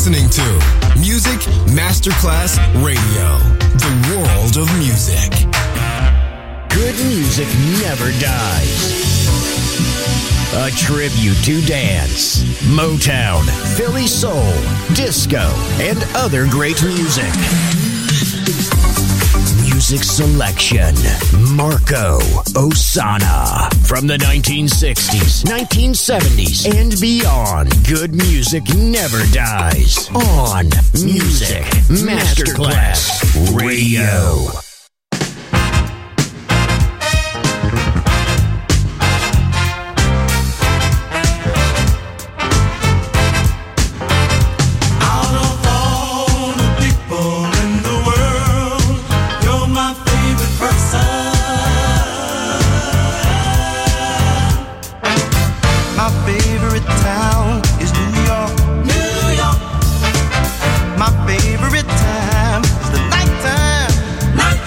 listening to Music Masterclass Radio, the world of music. Good music never dies. A tribute to dance, Motown, Philly soul, disco, and other great music. Music selection, Marco Ossanna. From the 1960s, 1970s, and beyond, good music never dies. On Music Masterclass Radio. My favorite time is the nighttime.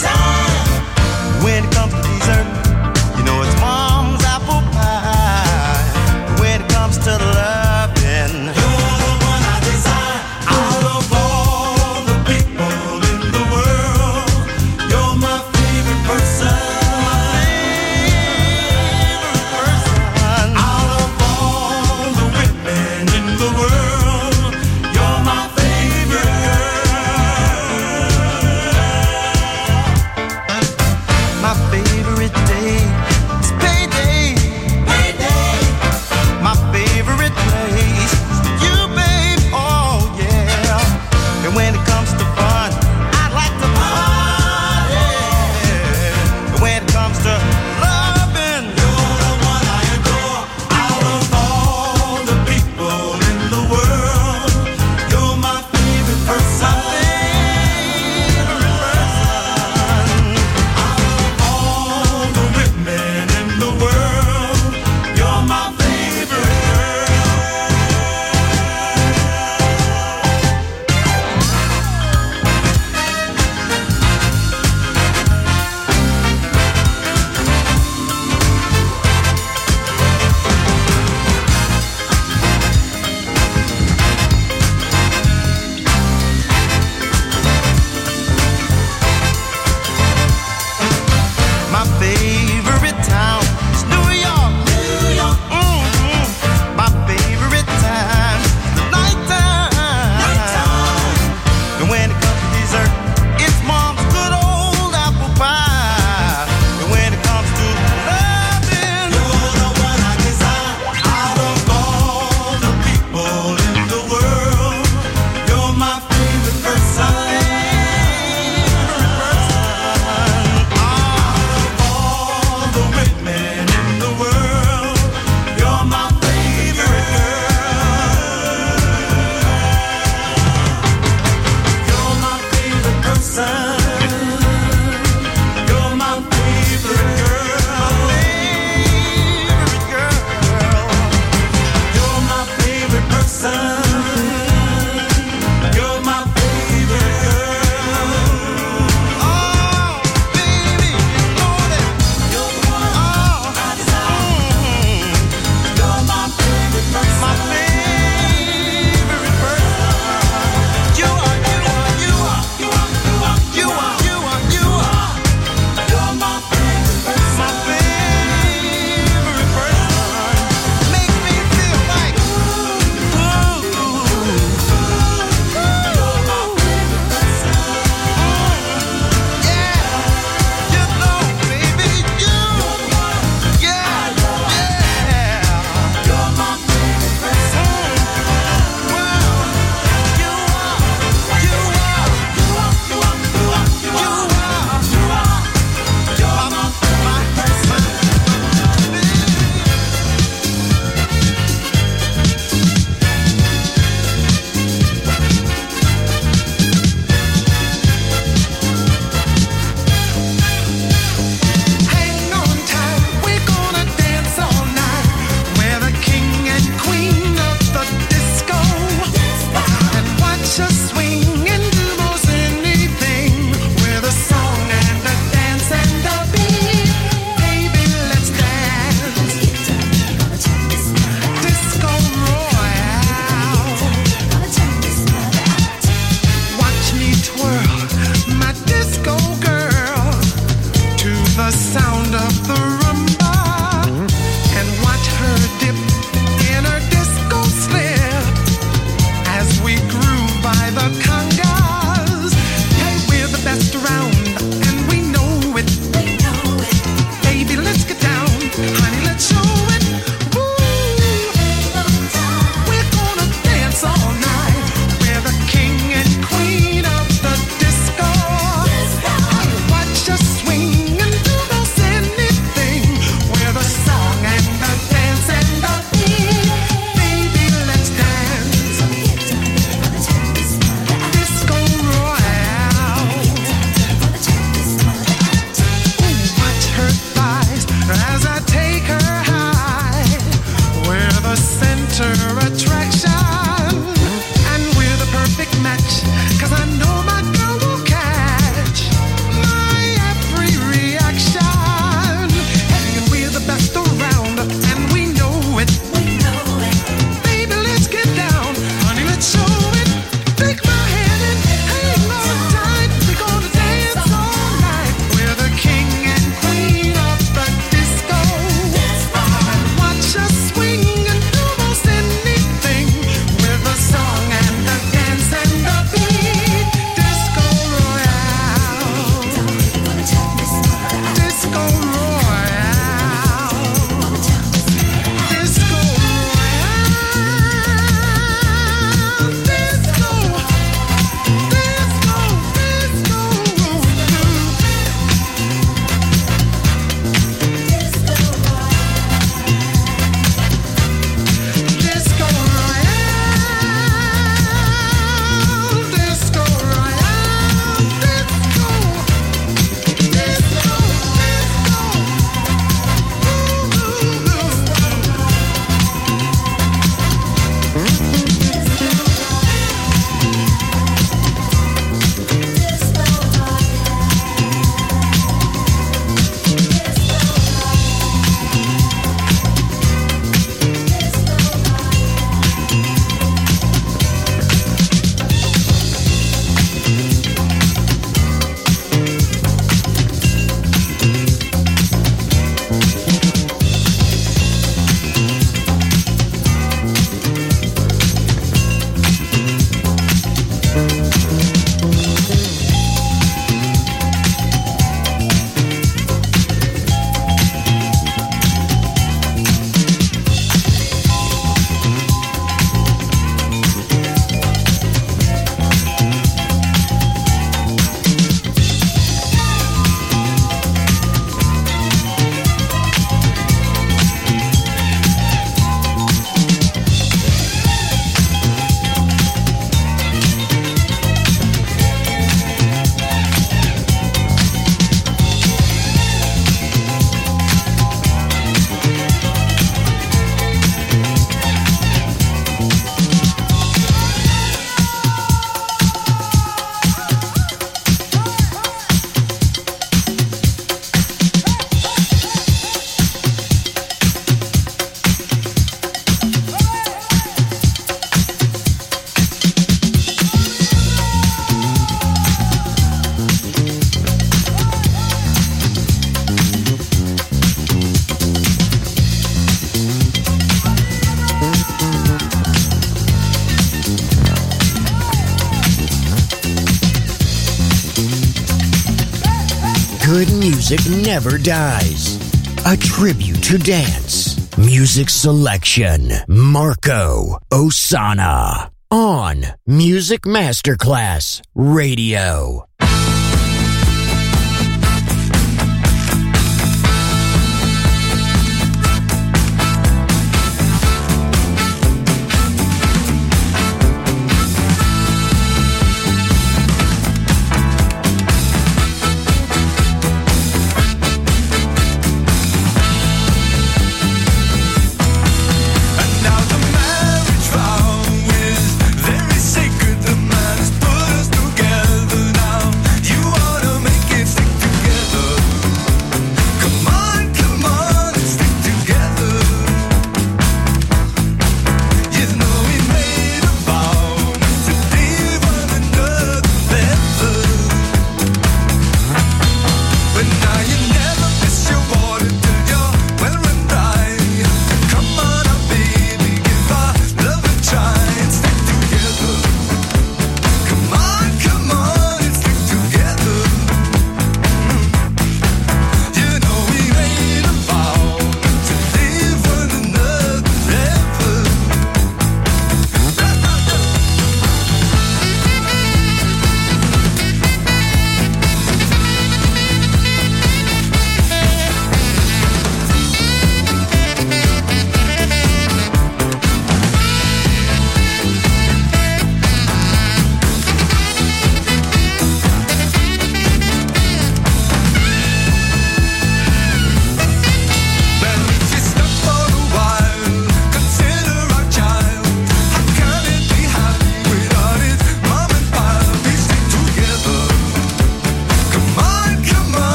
good music never dies. A tribute to dance. Music selection. Marco Ossanna. On Music Masterclass Radio. Very sacred, the man has put us together now.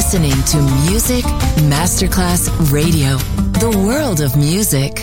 listening to Music Masterclass Radio, the world of music.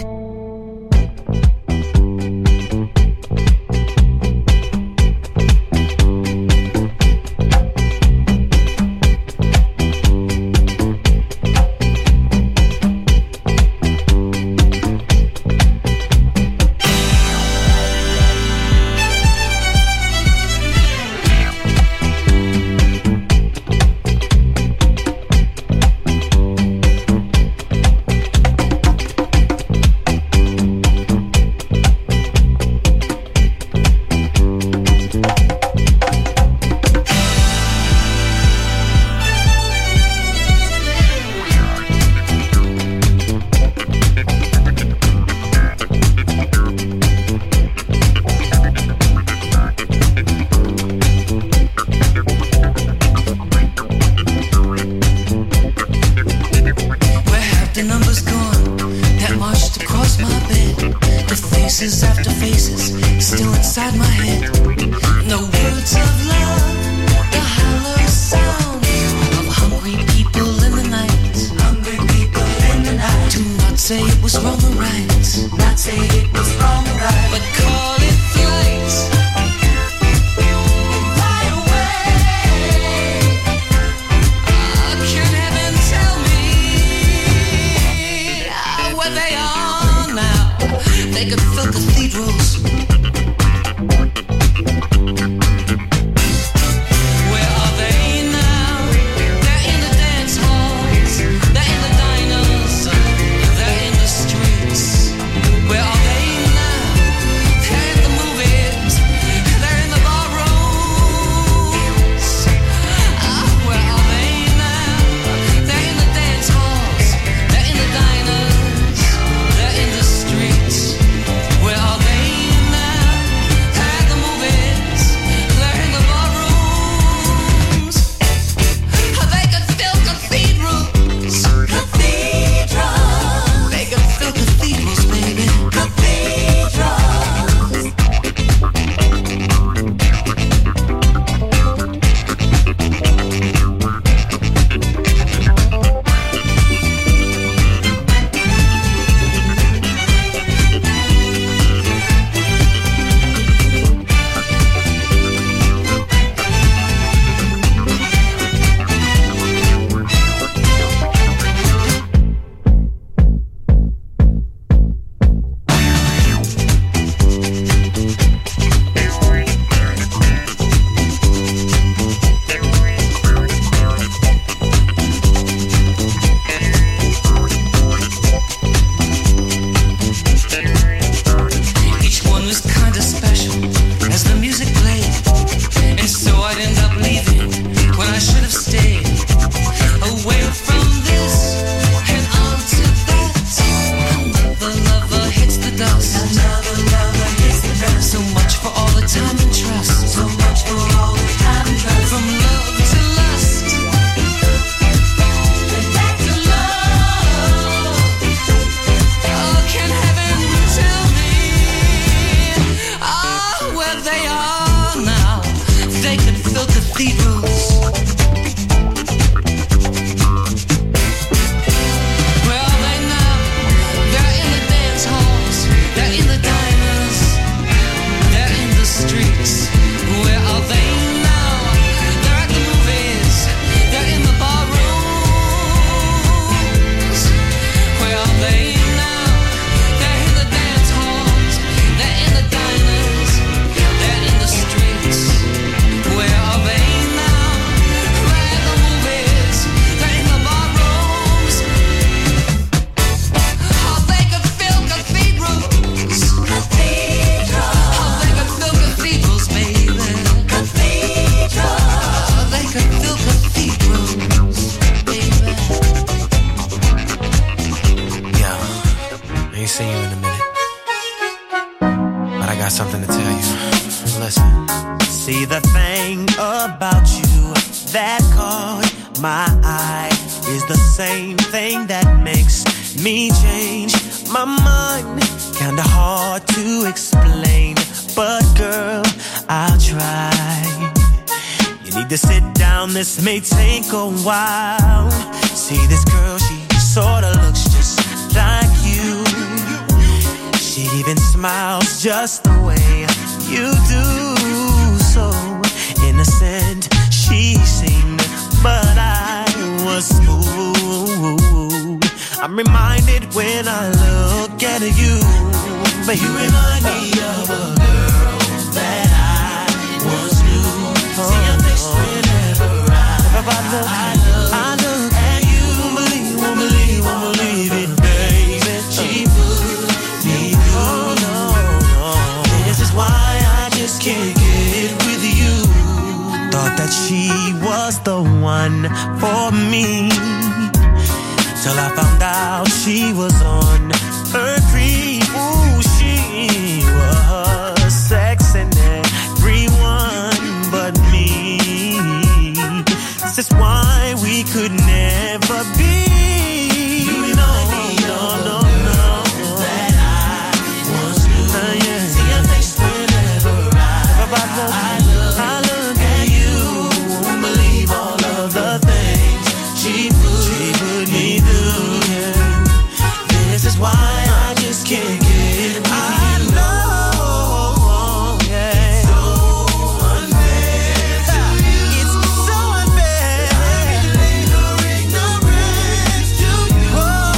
need to sit down, this may take a while. See this girl, she sorta looks just like you. She even smiles just the way you do. So innocent she seemed, but I was smooth. I'm reminded when I look at you, but you remind me of a girl that I once knew. See your face whenever I look at you. Won't believe it, baby. She put me through. No. This is why I just can't get with you. Thought that she was the one for me, till I found out she was on her creep. Ooh, she was sexing everyone but me. This is why we could never be. You remind me no. That I once knew. Yeah. See your face whenever I look at you. Won't believe all of the things she put me through. Yeah. This is why I just can't get with you. I know, yeah. It's so unfair to you. It's so unfair. I relate her ignorance to you.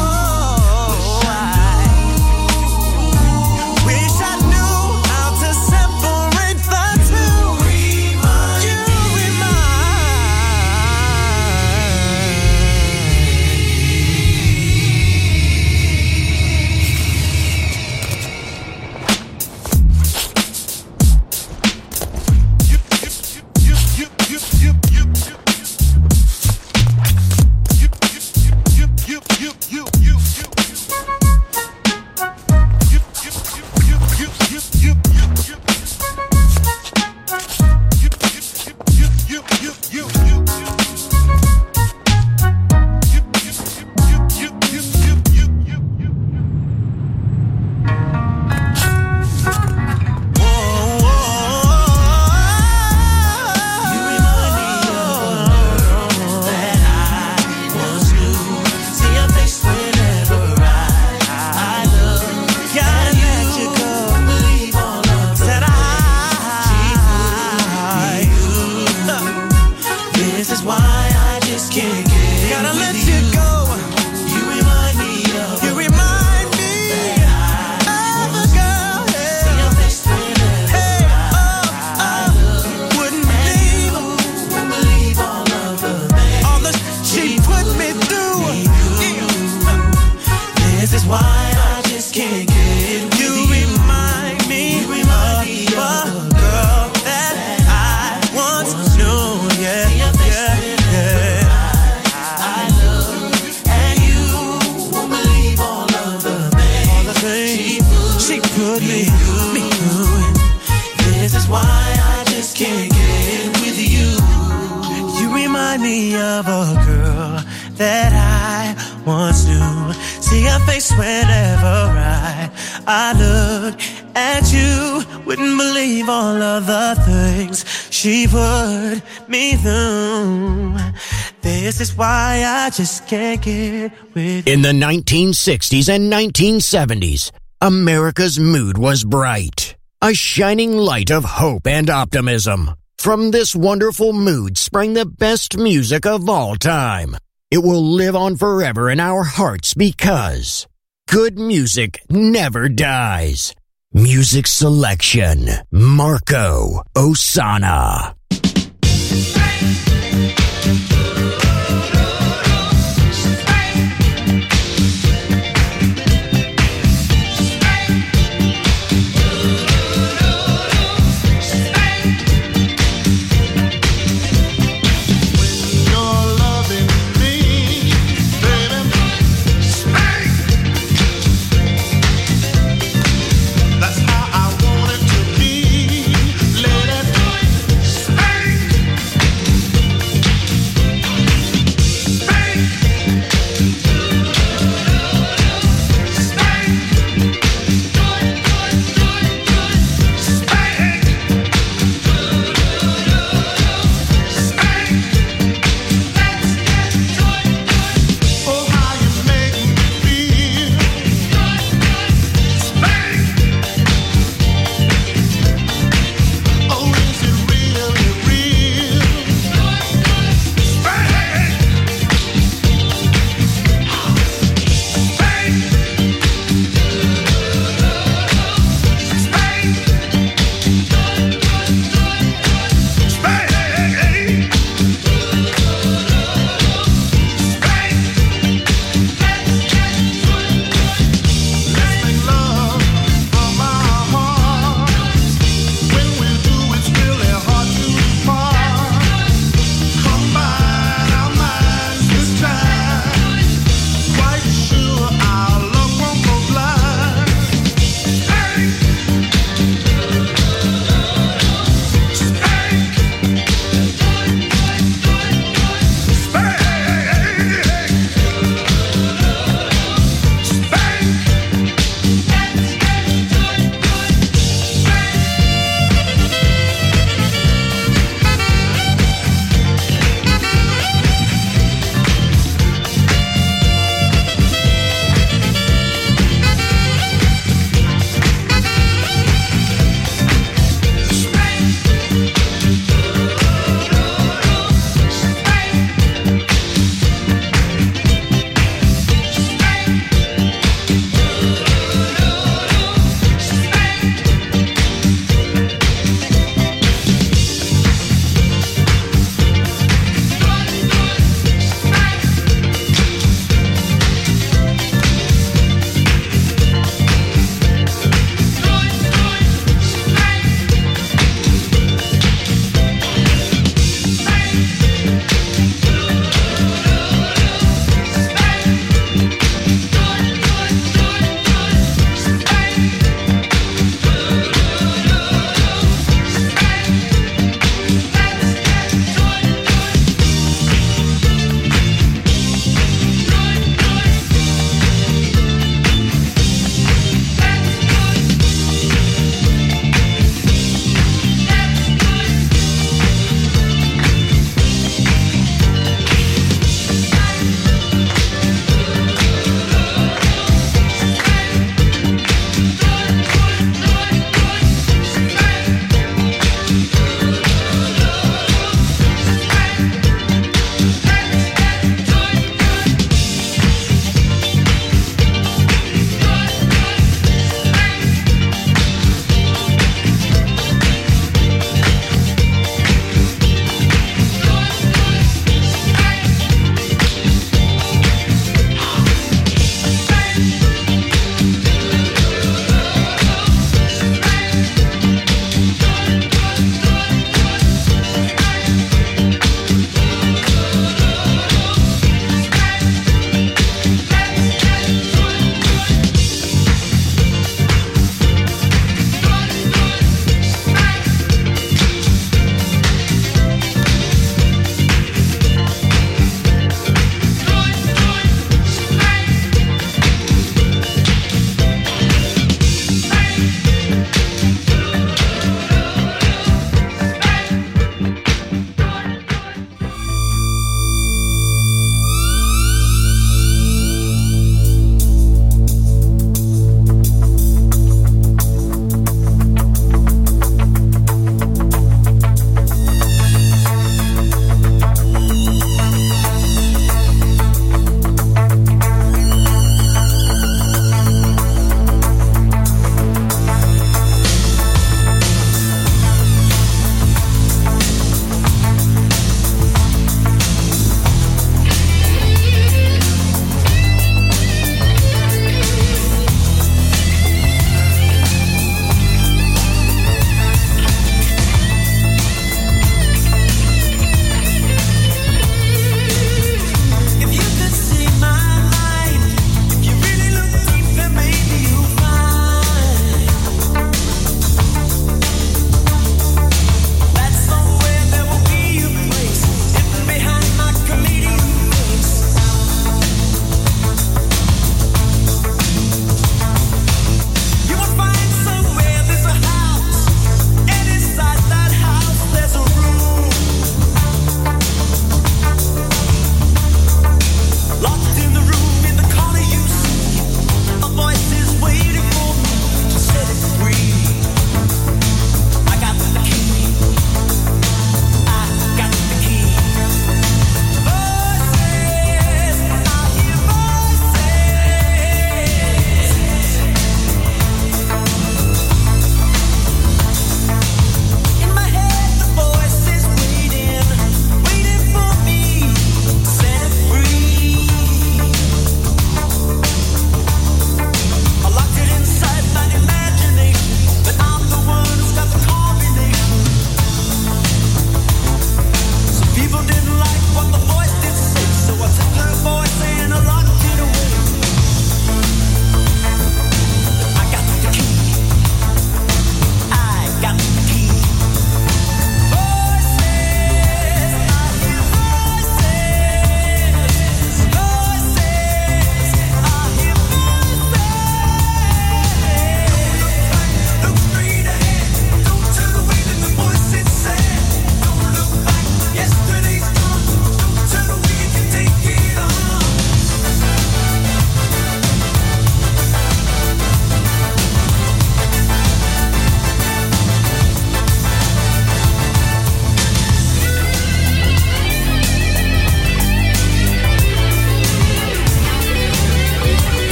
Wish I knew how to separate the two. You just can't get with. In the 1960s and 1970s, America's mood was bright, a shining light of hope and optimism. From this wonderful mood sprang the best music of all time. It will live on forever in our hearts because good music never dies. Music selection, Marco Ossanna. That's how I want it to be. Let it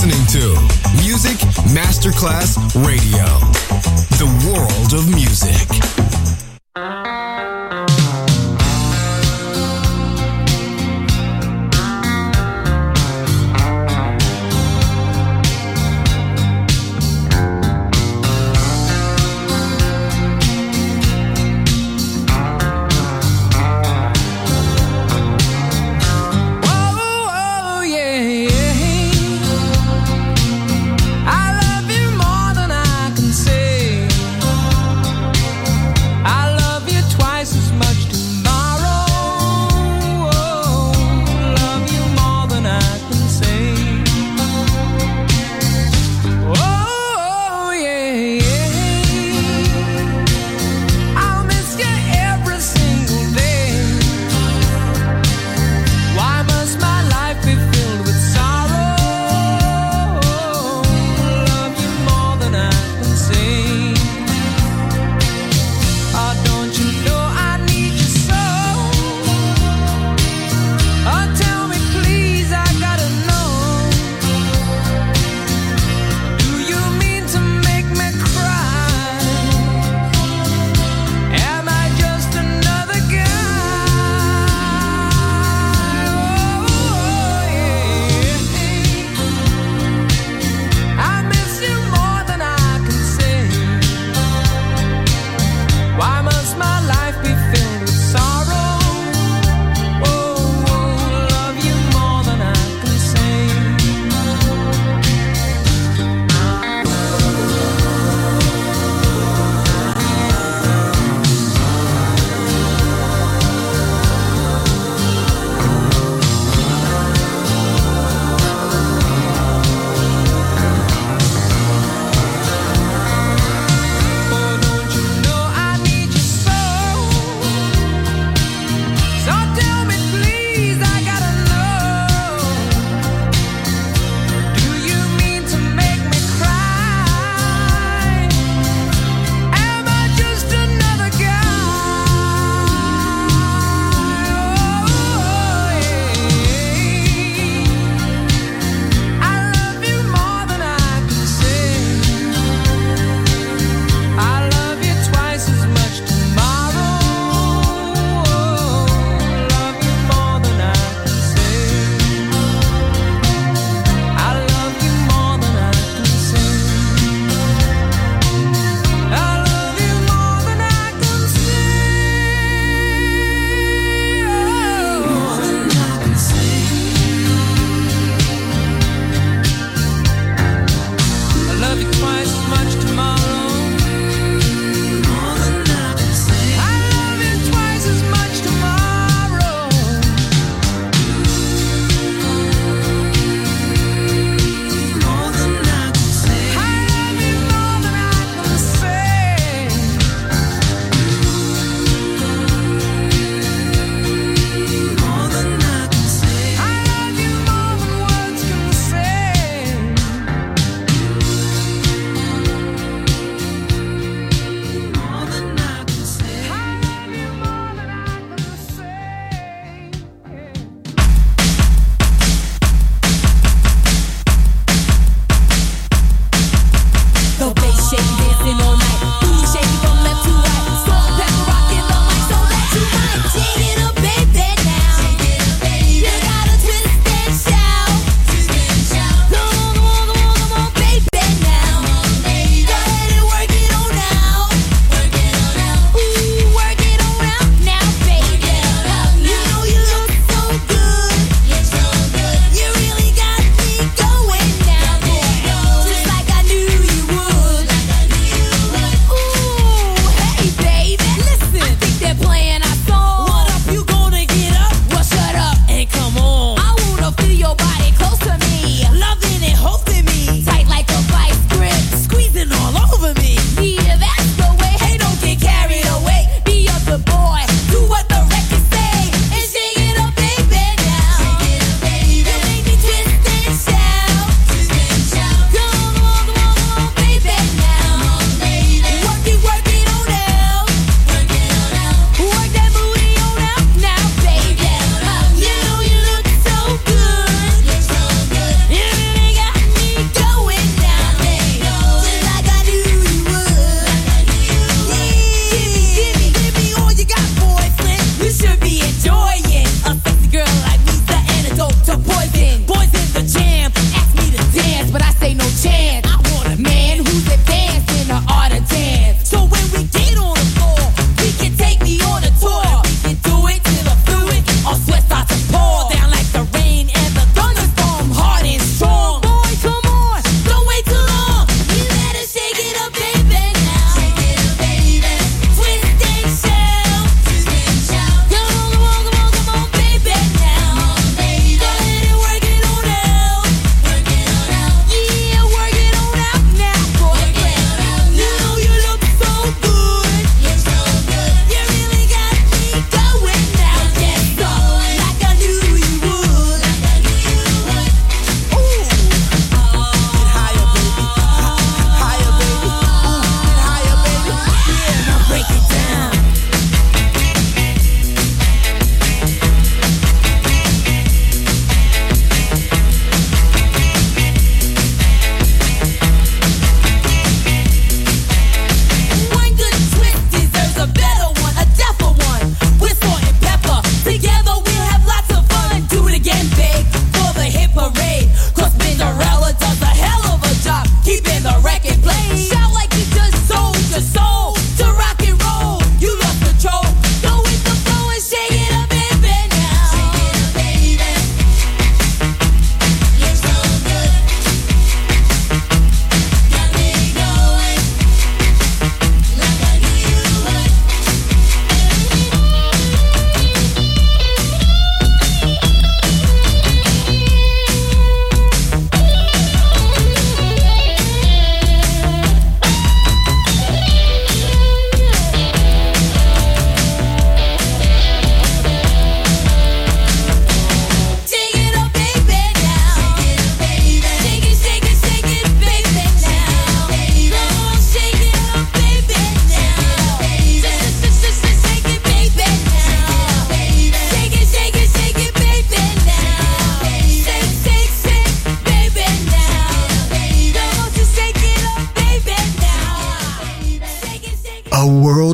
listening to Music Masterclass Radio, the world of music. I love you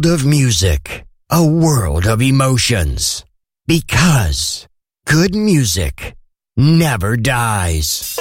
world of music, a world of emotions. Because good music never dies.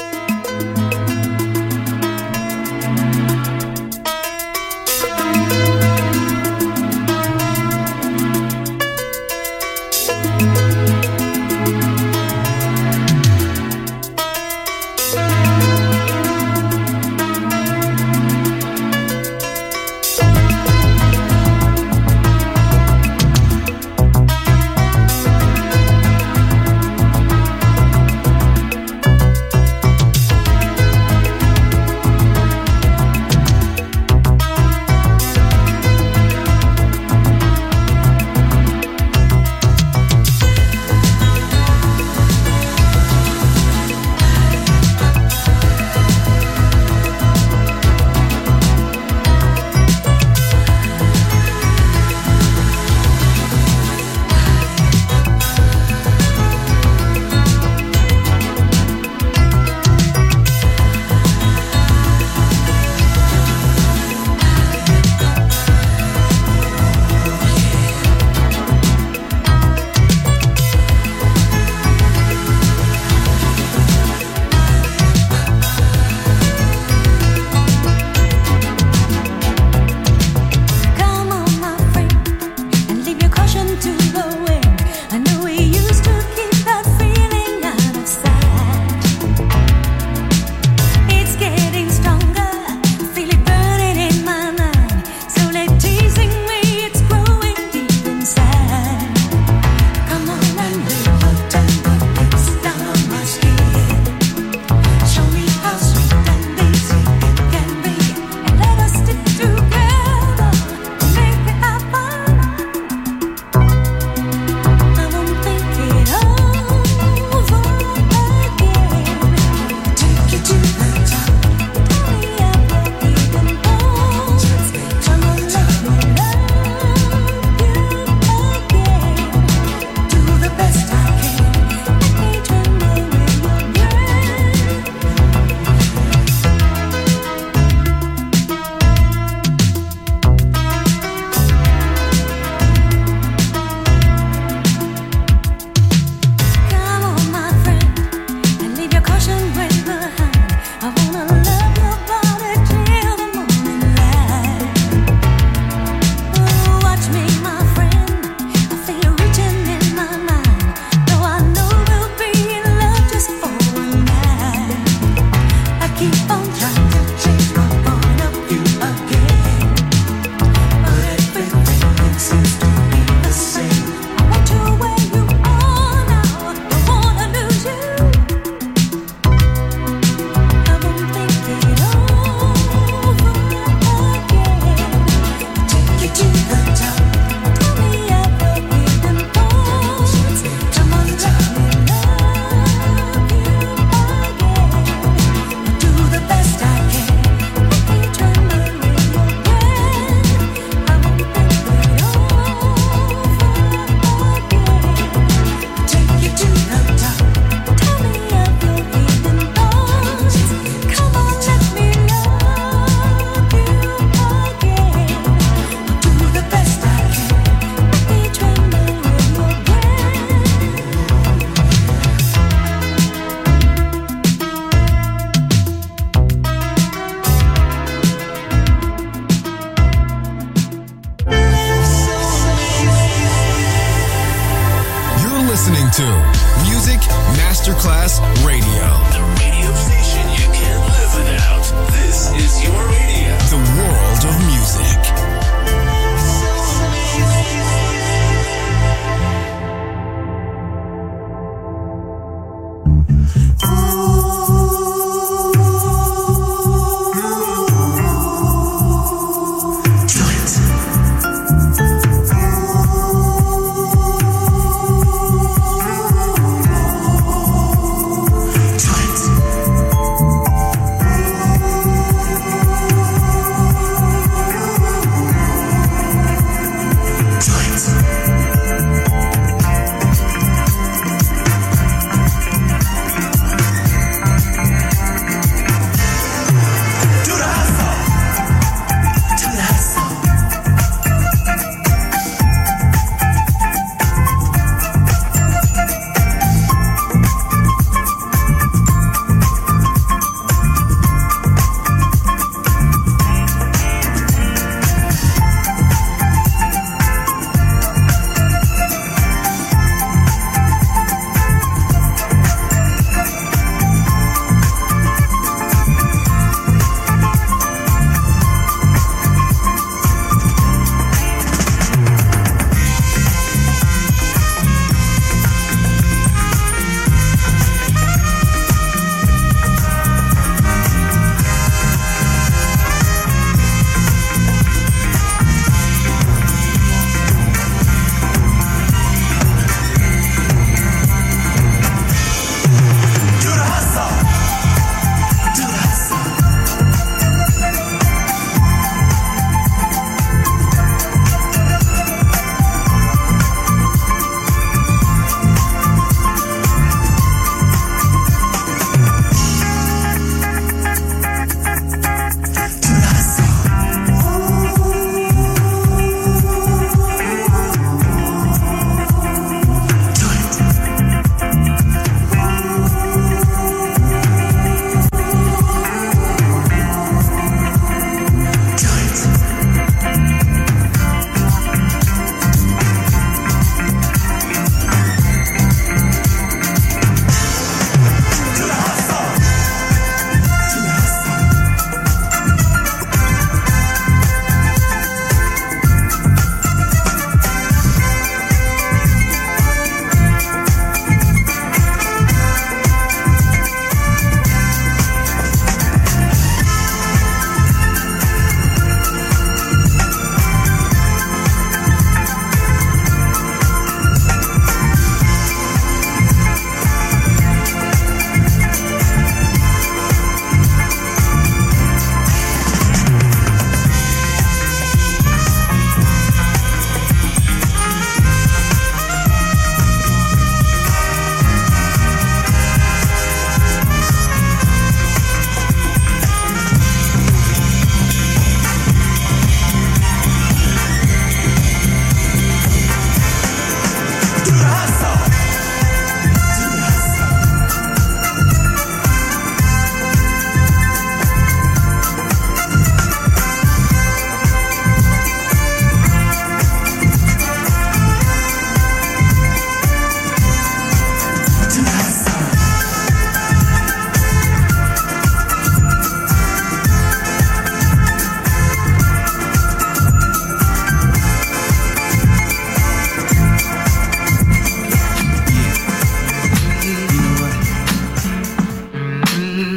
to Music Masterclass Radio. The radio station you can't live without. This is your radio. The world of music.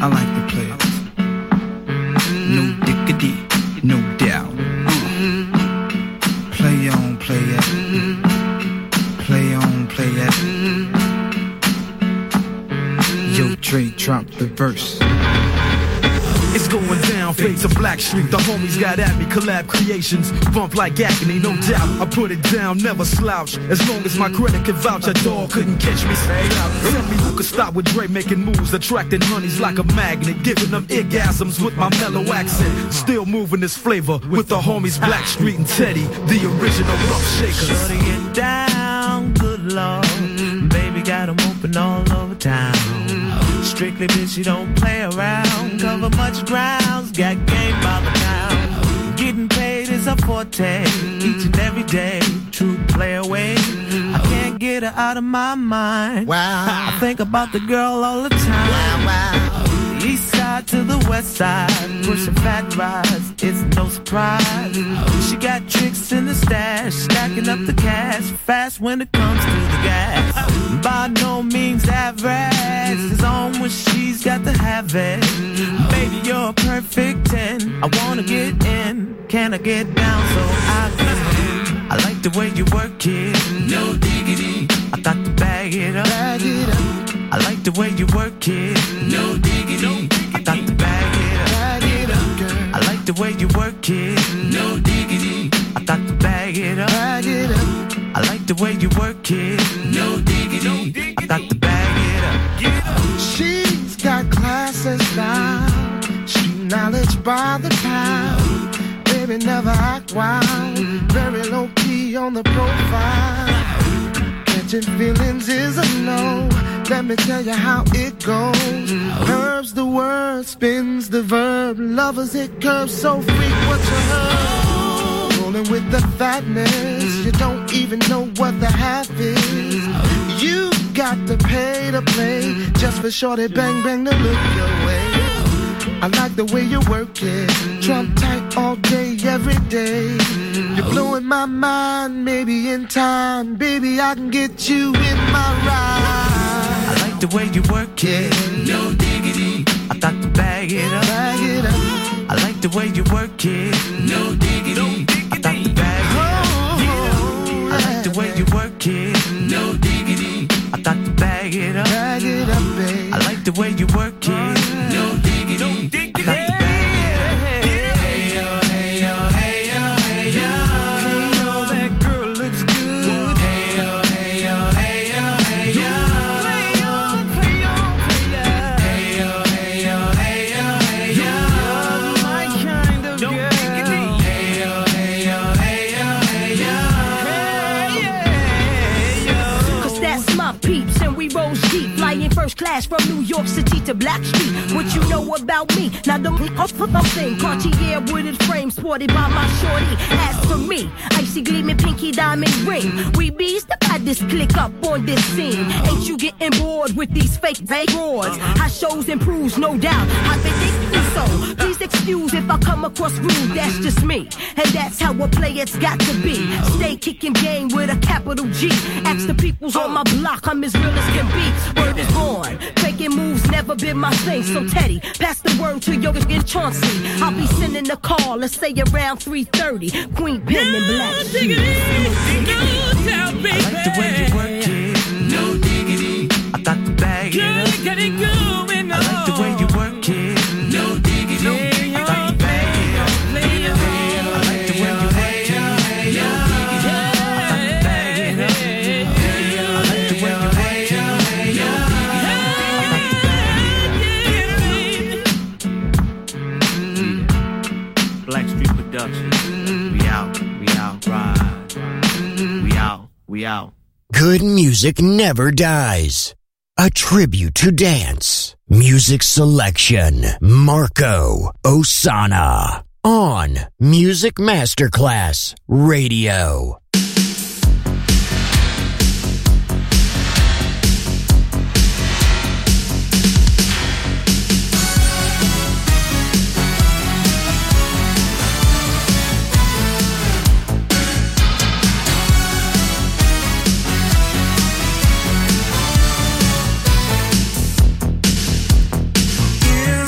I like to play it. No diggity, no doubt. Play on, play it. Play on, play it. Yo, Dre, drop the verse. It's going down, fade to Black Street. The homies got at me, collab creations. Bump like agony, no doubt. I put it down, never slouch. As long as my credit can vouch, a dog couldn't catch me. Tell me who could stop with Dre making moves, attracting honeys like a magnet, giving them orgasms with my mellow accent. Still moving this flavor with the homies Black Street and Teddy, the original rough shakers. Shorty it down, good lord. Baby got 'em open all over town. Strictly bitch, you don't play around. Cover much grounds, got game by the pound. Getting paid is a forte, each and every day. True play away. I can't get her out of my mind. Wow. I think about the girl all the time. Wow, wow. The east side to the west side, pushing fat rides, it's no surprise. She got tricks in the stash, stacking up the cash, fast when it comes to the gas. By no means average, it's on when she's got to have it. Baby, you're a perfect 10, I wanna get in, can I get down so I can? I like the way you work it, no diggity, I got to bag it up. Bag it up. I like the way you work it, no diggity, I got to bag it up. Bag it up, girl. I like the way you work it, no diggity, I got to bag it up. Bag it up. I like the way you work it, no diggity, I got to bag it up. She's got class and style, street knowledge by the pound. Baby never act wild, very low key on the profile. Catching feelings is a no, let me tell you how it goes. Curves the word, spins the verb, lovers hit curves so freak what you heard. Rolling with the fatness, you don't even know what the half is. You got to pay to play, just for shorty bang bang to look your way. I like the way you work it, Trump tight all day, every day. You're blowing my mind, maybe in time, baby I can get you in my ride. I like the way you work it, no diggity, I got to bag it up. Bag it up. I like the way you work it, no diggity, I got to bag it up. I like the way you work it, no diggity, I got to bag it up. Bag it up, babe. I like the way you work it, no diggity, I got to bag it up. Hey yo, hey yo, hey yo, hey yo, hey yo, that girl looks good. Hey yo, hey yo, hey yo, hey yo, play on, play on, play on. Hey yo, hey yo, hey yo, hey yo, you're my kind of girl. Hey yo, hey yo, hey yo, hey yo, hey yo. Cause that's my peeps and we roll deep, flying first class from New York City to Black Street. What you know about me? Now don't I'm saying Cartier wooded frame sported by my shorty. As for me, icy gleaming pinky diamond ring. We bees the baddest click up on this scene. Ain't you getting bored with these fake roars? How shows improves, no doubt. I've been thinking so. Please excuse if I come across rude, that's just me. And that's how a player's got to be. Stay kicking game with a capital G. Ask the peoples on my block, I'm as real as can be. Word is born, faking moves never been my thing. So Teddy, pass the word to your Chauncey. I'll be sending a call, let's say around 3:30. Queen Pen and Black. No diggity, no doubt, baby. I like the way you work it, no diggity, I got to bag it up. Got it going on. I like the way you work it, no diggity, I got to bag it up. I like the way you work it, no diggity, I got to bag it up. I like the way you work it, no diggity, I got to bag it up. Black Street Productions. We out, ride. We out. Good music never dies. A tribute to dance. Music selection. Marco Ossanna. On Music Masterclass Radio. You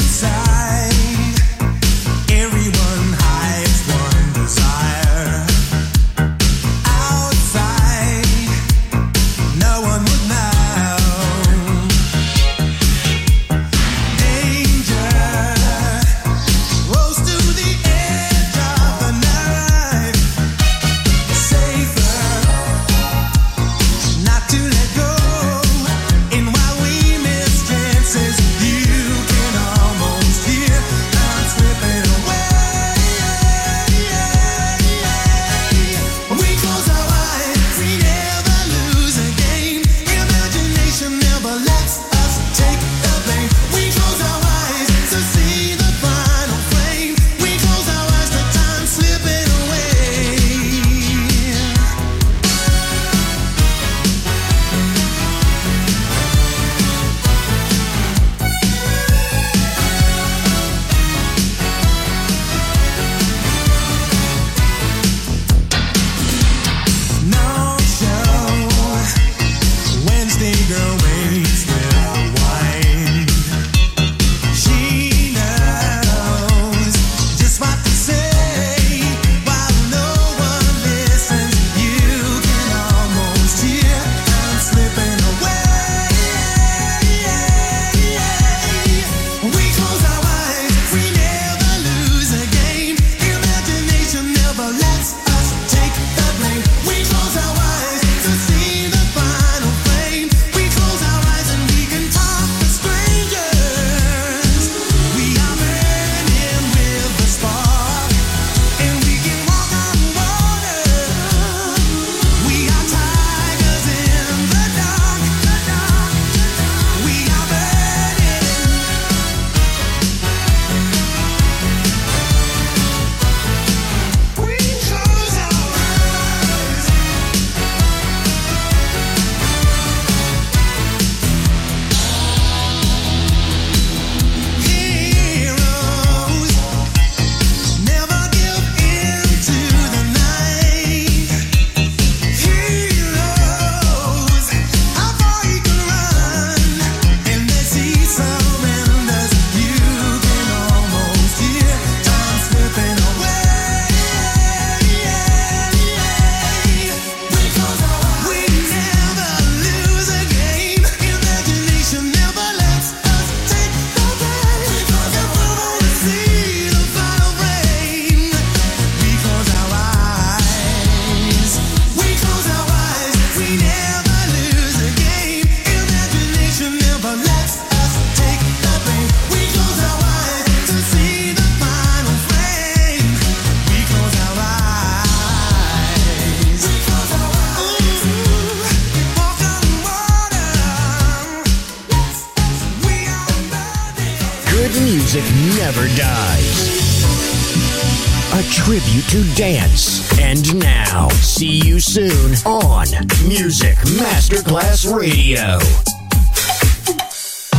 music never dies. A tribute to dance. And now, see you soon on Music Masterclass Radio.